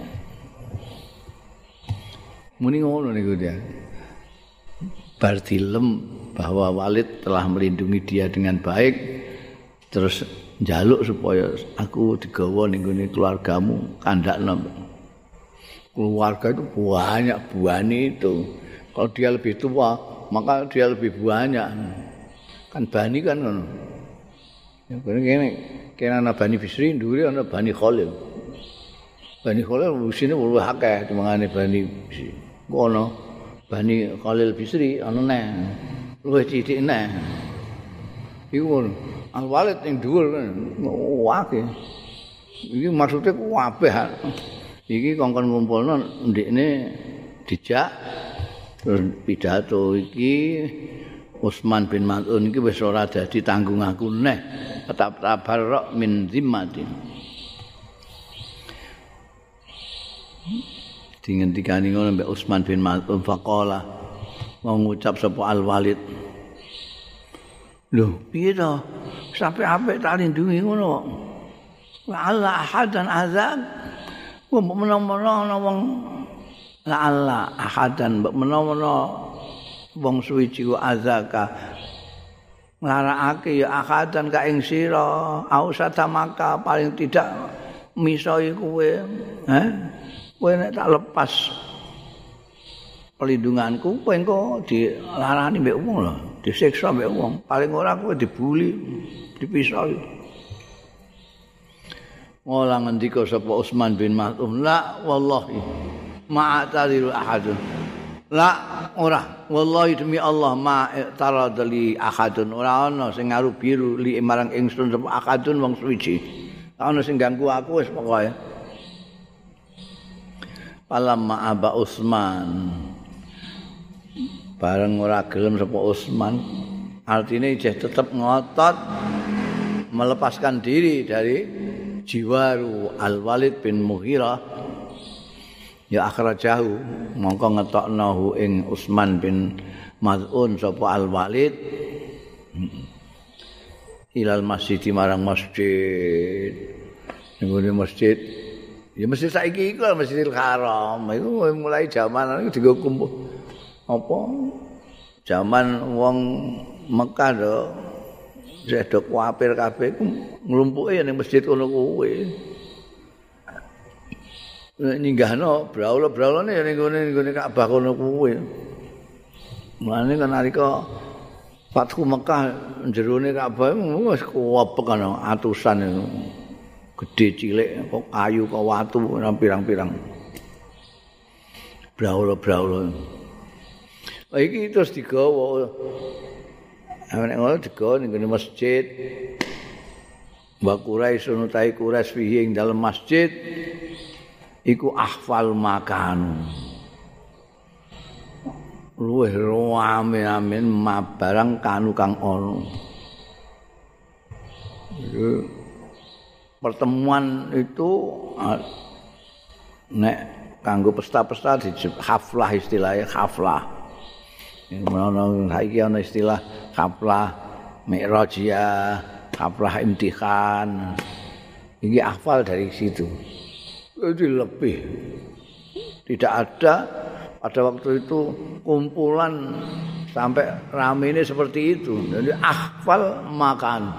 Muni ngono niku dia. Bar dilem bahwa Walid telah melindungi dia dengan baik terus njaluk supaya aku digawa ning gone keluargamu kandakno. Keluarga itu banyak buani itu. Kalau dia lebih tua, maka dia lebih banyak. Kan bani kan ngono. Ya kene ana Bani Bisri, ndure ana Bani Khalil. Bani Khalil usine luwih akeh timangane Bani Bisri. Ngono. Bani Khalil Bisri ana neh. Luwih sithik neh. Iku Al-Walid ning dhuwur akeh. Iki maksudnya kabeh. Iki kongkon ngumpulno ndekne dijak terus pidato iki Utsman bin Maz'un iki wis ora dadi tanggung aku neh tetap tabarruk min zimmati dingendikani ngono mbek Utsman bin Maz'un faqala mau ngucap sapa Al-Walid lho piye to sampe apik tak lindungi ngono wa alla ahadan azab mbok menawa wong la alla ahadan mbok menawa wong suwiji ku azaka nglarakake ya ahadan ka ing sira ausata maka paling tidak misoi kowe kowe nek tak lepas pelindunganku kowe engko dilarani mbek wong lho disiksa mbek wong paling ora kowe dibuli dipisoi Ola ngendika sapa Utsman bin Maz'un la wallahi ma'tadiru ahadun la ora wallahi demi Allah ma taradli ahadun ora ana sing ngaru biru li marang ingsun sapa ahadun wong suwiji ana sing ganggu aku wis pokoke palamma aba Utsman bareng ora gelem sapa Utsman artine isih tetep ngotot melepaskan diri dari jiwaru Al-Walid bin Mughirah ya akhrajahu mongko ngetokno ing Utsman bin Maz'un sapa Al-Walid ilal masjid marang masjid nggone masjid ya masjid saiki iku Masjidil Haram iku mulai zaman iku dienggo kumpul apa zaman wong Mekah lho sedok kuapir kabeh ku nglumpuke ning masjid kono kuwi. Ninggahno braula-braulane ya ning gone Ka'bah kono kuwi. Mulane kan nalika Fathu Mekah jerone Ka'bah wis kuwepek ana atusan itu. Gedhe cilik kok kayu kok watu pirang-pirang. Braula-braula. Iki terus digawa nek ngono digawa ning masjid. Wa Quraisy nutai Quraisy fihi ing dalem masjid iku ahfal makan. Luwih rame amin barang kanu kang ana. Pertemuan itu nek kanggo pesta-pesta disebut haflah, istilahnya haflah. Menawa saiki ana istilah haflah mi'rajiyah, haflah imtihan. Ini hafal dari situ. Itu lebih. Tidak ada pada waktu itu kumpulan sampai rame ini seperti itu. Jadi hafal makan.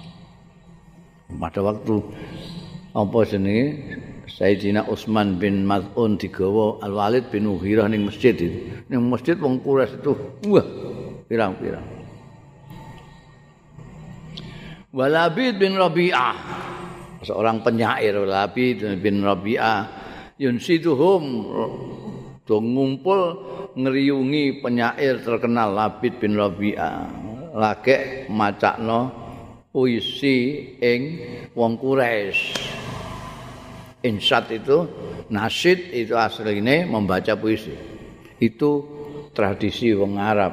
Pada waktu apa jenenge Sayyidina Utsman bin Maz'un digawa Al-Walid bin Mughirah ning masjid itu. Ning masjid wong Quraisy itu wah pirang-pirang. Walabid bin Rabi'ah, seorang penyair Walabid bin Rabi'ah, yunsiduhum do ngumpul ngriungi penyair terkenal Labid bin Rabi'ah. Lagek macakno puisi ing wong Quraisy. Insyad itu, nasyid itu aslinya membaca puisi. Itu tradisi wong Arab.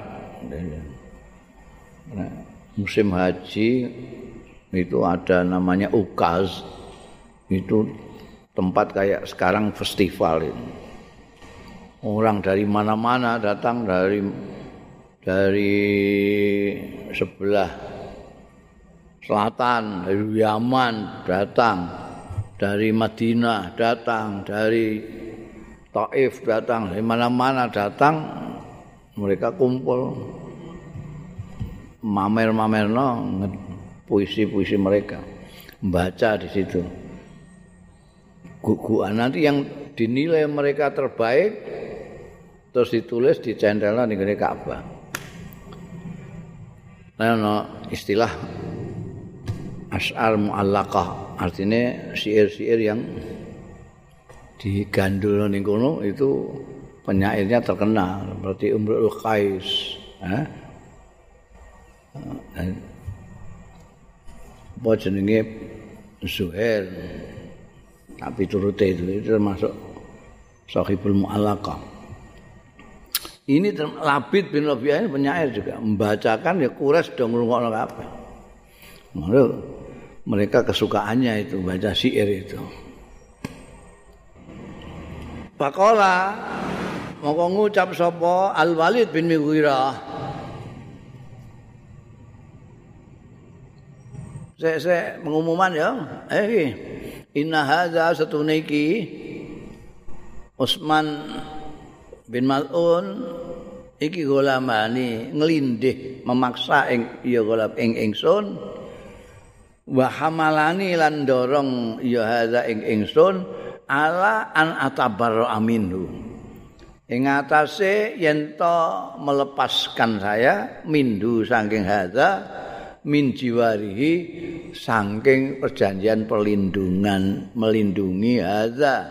Nah, musim haji itu ada namanya ukaz. Itu tempat kayak sekarang festival itu. Orang dari mana-mana datang dari sebelah selatan, dari Yaman datang. Dari Madinah datang, dari Taif datang, dari mana-mana datang, mereka kumpul mamer-mamerno puisi-puisi mereka, membaca di situ. Guguan nanti yang dinilai mereka terbaik terus ditulis dicentelno ning ngene Ka'bah. Nah, istilah asy'ar mu'allaqah, artinya syair-syair yang digandul ning kono itu penyairnya terkenal seperti Imrul Qais, apa jenenge Zuhair, tapi turute itu termasuk Shahibul Mu'allaqah. Ini Labid bin Rabi'ah penyair juga membacakan ya Quraisy do ngrungokno kabeh. Mereka kesukaannya itu baca syair itu. Faqala moko ngucap sapa Al-Walid bin Mughirah. Saya pengumuman ya. Inna hadza satune iki Utsman bin Maz'un iki golamani nglindih memaksa ing ya golap ing ingsun. Wa hamalani lan dorong ya hadza ing ingsun ala an atabarra minhu. Ing atase yen to melepaskan saya mindu saking hadza min jiwarihi saking perjanjian perlindungan melindungi hadza.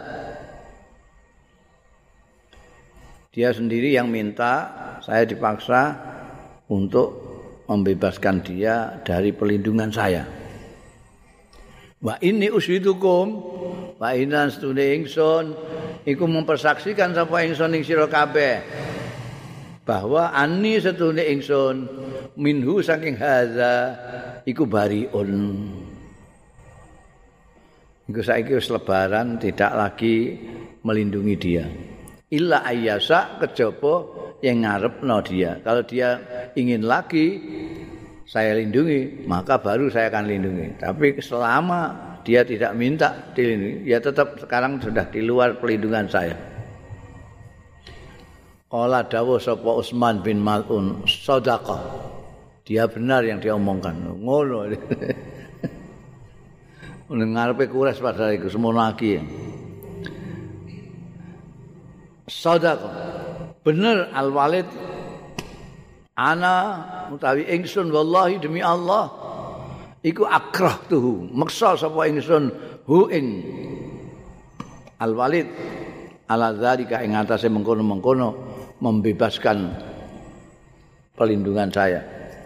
Dia sendiri yang minta, saya dipaksa untuk membebaskan dia dari perlindungan saya. Wa inni usyidukum wa inna stune ingsun iku mempersaksikan sapa ingsun ing sira kabeh bahwa anni setune ingsun minhu saking hadza iku bariun. Iku saiki wis lebaran tidak lagi melindungi dia. Illa ayyasa kejaba yang ngarepno dia. Kalau dia ingin lagi saya lindungi, maka baru saya akan lindungi. Tapi selama dia tidak minta dilindungi, ya tetap sekarang sudah di luar pelindungan saya. Qala dawuh sapa Utsman bin Maz'un, shadaqah. Dia benar yang dia omongkan. Ngono. Ngarepe Quraisy padahal iku semono lagi. Shadaqah. Bener Al-Walid ana utawi ingsun wallahi demi Allah iku akrahtuhu maksa sapa ingsun hu ing Al-Walid ala zalika ing atase mengkono-mengkono membebaskan perlindungan saya.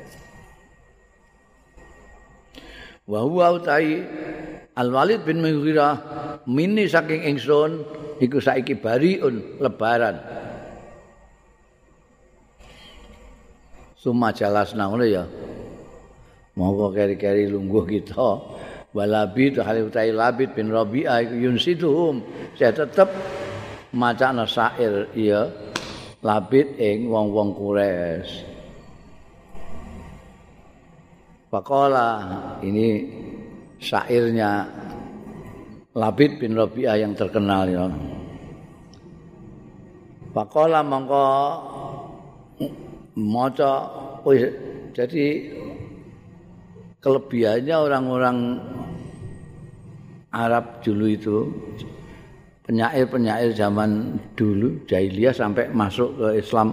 Wa huwa utai Al-Walid bin Mughirah mini saking ingsun iku saiki bariun lebaran. Suma jalasna ngono ya. Monggo keri-keri lungguh kita. Walabid hale utahe Labid bin Rabi'ah iku yunsiduhum. Saya tetep macana syair ya Labid ing wong-wong Quraisy. Faqala ini syairnya Labid bin Rabi'ah yang terkenal ya. Faqala mongko maca jadi kelebihannya orang-orang Arab dulu itu penyair-penyair zaman dulu jahiliyah sampai masuk ke Islam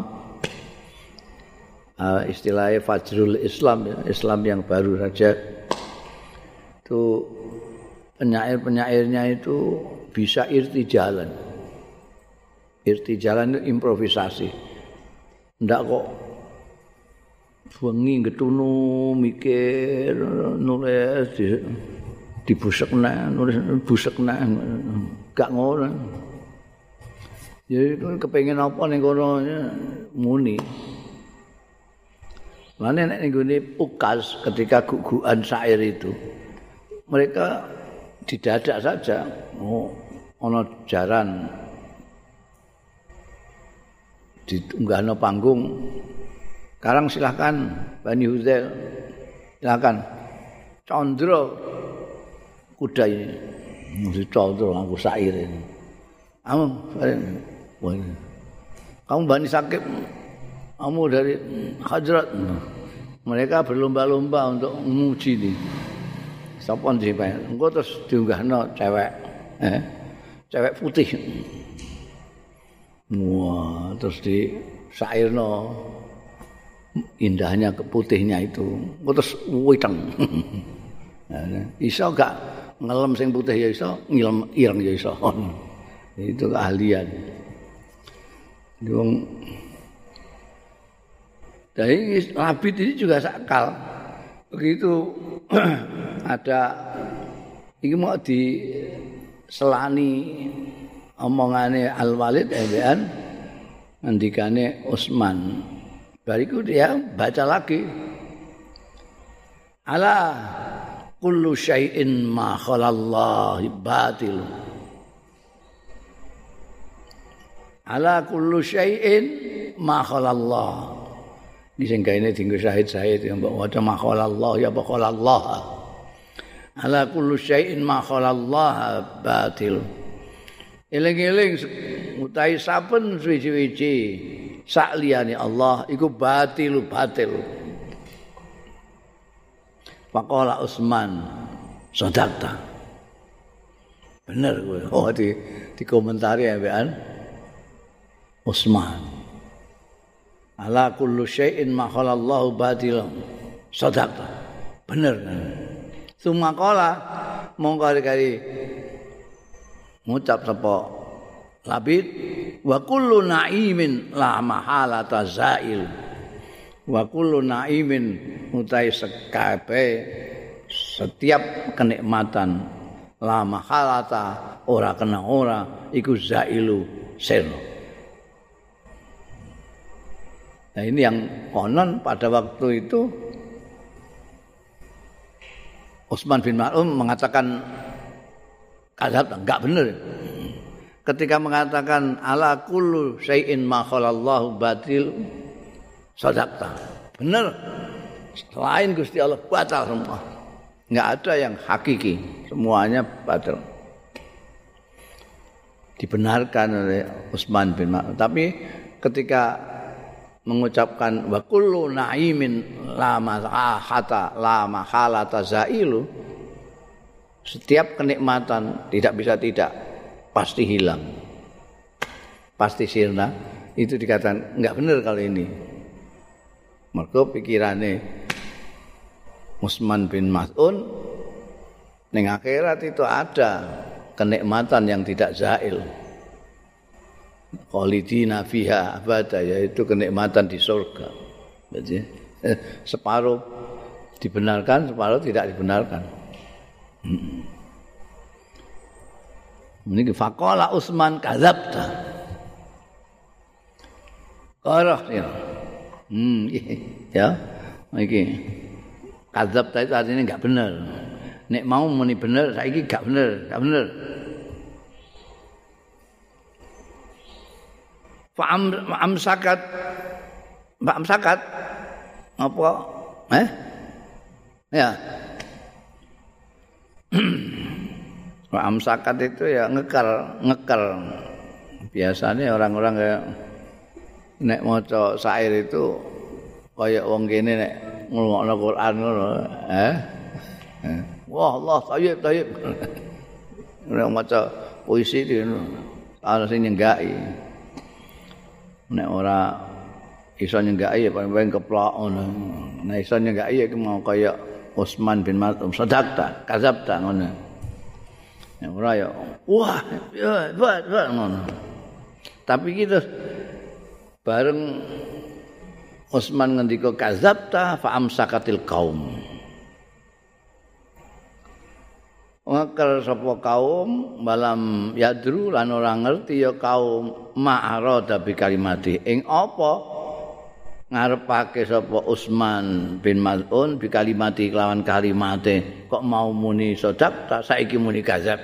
istilahnya Fajrul Islam ya, Islam yang baru saja itu penyair-penyairnya itu bisa irtijalan itu improvisasi ndak kok wengi getunu mikir nulis dibusekna nulis busekna gak ngono ya kepengin apa ning kono muni Mane nek nggone Ukas ketika gugukan syair itu mereka didadak saja ana jaran diunggahno panggung sekarang silahkan Bani Huzail silahkan Condro kuda ini mesti Condro aku syair ini kamu Bani Sakib kamu dari Hadrat mereka berlomba-lomba untuk menguji ini sapa sih Pak engko terus diunggahno cewek cewek putih wah terus di syairno indahnya keputihnya itu terus witeng iso gak ngelem sing putih ya iso ngilem ireng ya iso itu keahlian wong dari Labid ini juga sakal begitu ada ini mau diselani omongane Al-Walid ebean ngendikane Utsman bariku dia baca lagi ala kullu syai'in ma khalallahi batil ala kullu syai'in ma khalallah iki sing gaene dienggo syahid-syahid yang mbok waca ma khalallah ya khalallah ala kullu syai'in ma khalallah batil eling-eling utahe saben suwi-suwi sak liyane Allah iku batil. Faqala Utsman sadaqta. Bener kowe. Oh di komentari ambekan Utsman. Ala kullu syai'in ma khalallahu batil. Sadaqta. Bener. Sumaqala mongko kali ngucap sapa Labid wa kullu na'imin la mahalata zail wa kullu na'imin utai sekabe setiap kenikmatan la mahalata ora kena ora iku zailu selo. Nah ini yang konon pada waktu itu Utsman bin Maz'un mengatakan kadzab enggak benar. Ketika mengatakan ala kullu syai'in ma khalallahu batil sadaqta. Benar. Selain Gusti Allah batal semua. Enggak ada yang hakiki, semuanya batal. Dibenarkan oleh Utsman bin Maz'un. Tapi ketika mengucapkan wa kullu na'imin la mahalata zailu, setiap kenikmatan tidak bisa tidak pasti hilang, pasti sirna, itu dikatakan enggak benar kali ini. Mergo pikirane Utsman bin Maz'un ning akhirat itu ada kenikmatan yang tidak zail. Khalidina fiha abada, yaitu kenikmatan di surga. Jadi separuh dibenarkan, separuh tidak dibenarkan. Ini faqala Utsman kadzabta. Qarah ya. Ya. Iki Kadzabta itu artinya enggak benar. Nek mau muni bener saiki gak bener. Amsakat apa? Ya. Amsakat itu ya ngeker. Biasanya orang-orang kayak nek maca syair itu kayak wong kene nek ngrungokno Quran ngono, Wah, Allah tayyib. Nek maca puisi itu ana sing nyenggaki. Nek ora iso nyenggaki ya paling keplok ngono. Nek iso nyenggaki ya mau kaya Utsman bin Maz'un sadaqta, kadzabta ngono. Nek ora ya wah, ya ngono. Tapi gitu bareng Utsman ngendika kadzabta fa amsakatil qaum. Ngakal sapa kaum malam yadru lan ora ngerti ya kaum ma'arada bi kalimati ing apa ngarepake sapa Utsman bin Maz'un bi kalimati kelawan kalimate kok mau muni sadaqta saiki muni kadzab.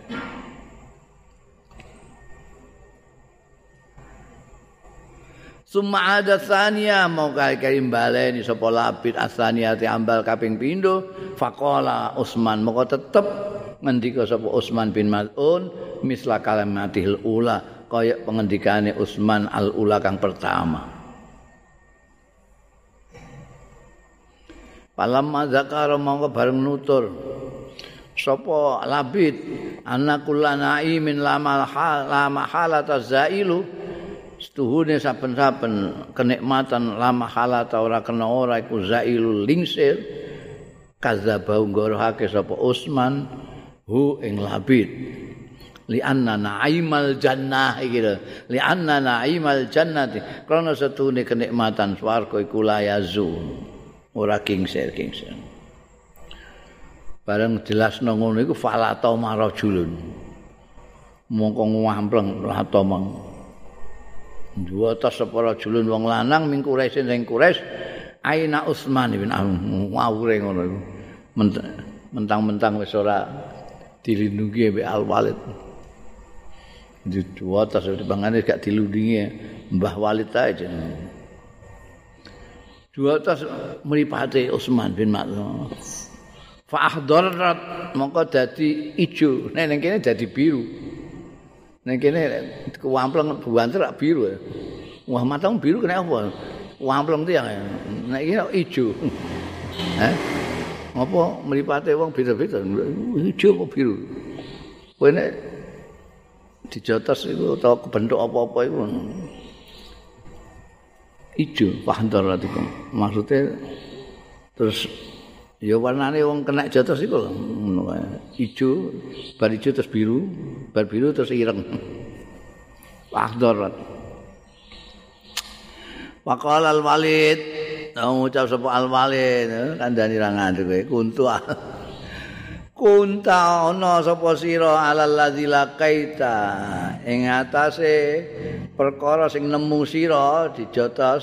Summa ada tsaniya mau kaya baleni sapa labid asaniyati ambal kaping pindho faqala Utsman moko tetep ngendika sapa Utsman bin Maz'un misla kalimatihil ula kaya pengendikane Utsman al ula kang pertama. Palamma zakara mongko bareng nutur sapa labid anakullana min lama halata zailu setuhune saben-saben kenikmatan lama halata ora kena ora iku zailul lingsir kadzaba nggorohake sapa Utsman hu ing labid li anna na'imal jannah iki lho li anna na'imal jannati krana setuhune kenikmatan swarga iku layazu ora kingsir bareng jelasno ngono iku falata marajulun mongko ngampleng ratomang dua tas separa julun wong lanang ming Quraisy sing Quraisy aina Utsman bin ngawure ngono iku mentang-mentang wis ora dilindungi mbek Al-Walid dua tas dibangane gak dilindungi Mbah Walid aja dua tas mripate Utsman bin Maz'un fa ahdarat mongko dadi ijo nek ning kene dadi biru. Nek kene kuampleng buanter biru. Wah matamu biru kena apa? Kuampleng tiyang. Nek iki ijo. Apa mripate wong beda-beda. Ijo apa biru? Kowe nek dijotos iku utawa kebentuk apa-apa iku. Ijo pahandoratikum. Maksudnya terus ya warnane wong kena jotos iku lho ngono kae. Ijo, bar ijo terus biru, bar biru terus ireng. Akhdar. Waqala Al-Walid, ngucap sapa Al-Walid, kandhani ra ngandel kowe kunta ana sapa sira alal ladzi laqaita ing atase perkara sing nemu sira dijotos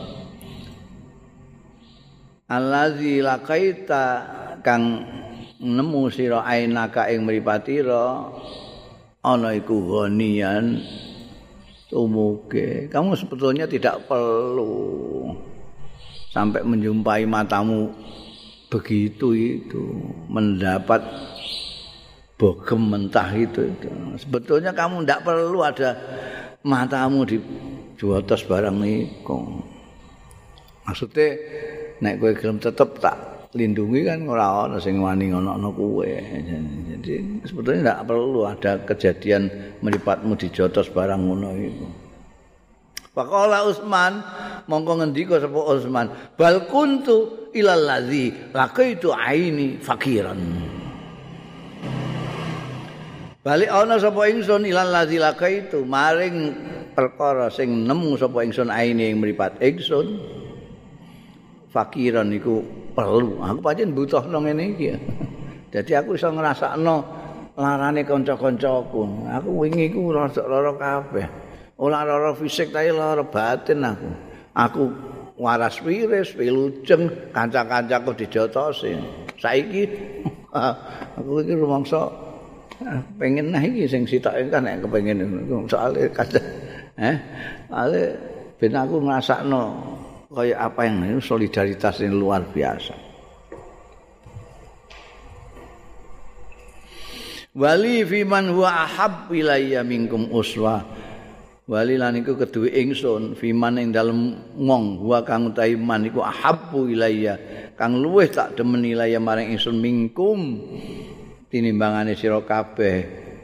allazi laqaita kang nemu sira ainaka ing mripatira ana iku ghaniyan tumuke kamu sebetulnya tidak perlu sampai menjumpai matamu begitu itu mendapat bogem mentah itu. Sebetulnya kamu tidak perlu ada matamu di jotos barang niku. Maksudnya nek kowe gelem tetep tak lindungi kan ora ana sing wani ngono kowe. Jadi sebetulnya tidak perlu ada kejadian mripatmu dijotos barang ngono iku. Faqala Utsman mongko ngendika sapa Utsman bal kuntu ilal ladzi laqaitu aini fakiran. Balik ana sapa ingsun ilal ladzi laqaitu maring perkara sing nemu sapa ingsun aini ing mripat ingsun fakiran iku perlu. Aku pancen butuhno ngene iki. Dadi aku iso ngrasakno larane kanca-kancaku. Aku wingi iku lara kabeh. Ora lara fisik tapi lara batin aku. Aku waras wiris, wilujeng, kanca-kancaku dijotosi. Saiki aku iki rumangsa pengen nah iki sing sitoke kan nek kepengin soalé kadang ale ben aku ngrasakno kaya apa yang solidaritas ini luar biasa. Wali fiman huwa ahab ilayya minkum uswah. Wali lan iku keduwe ingsun fiman ing dalem wong huwa kang utahi man iku ahabbu ilayya kang luwih tak demen ilayya maring ingsun minkum tinimbangane sira kabeh.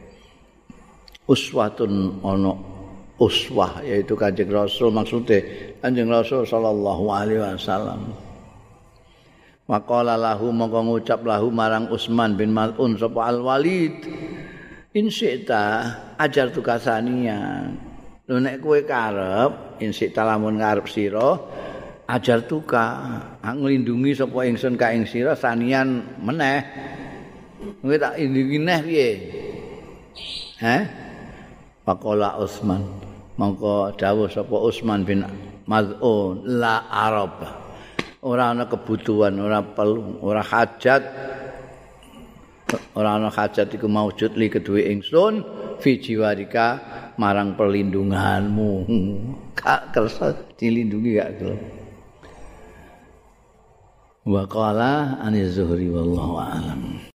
Uswatun ana uswah yaitu Kanjeng Rasul maksude Kanjeng Rasul sallallahu alaihi wasallam. Maqala lahu mongko ngucap lahu marang Utsman bin Mal'un sapa Al-Walid insyita ajar tukasania lho nek kowe karep insyita lamun ngarep sira ajar tuka nglindungi sapa ingsun ka ing sira sanian meneh kowe tak indungi neh piye Maqala Utsman mongko dawuh sapa Utsman bin Mal'un la arab ora ana kebutuhan, ora perlu, ora hajat iku maujud li kedue ingsun fi jiwarika marang perlindunganmu. Gak kersa dilindungi gak gelem. Wa qala an Zuhri wallahu a'lam.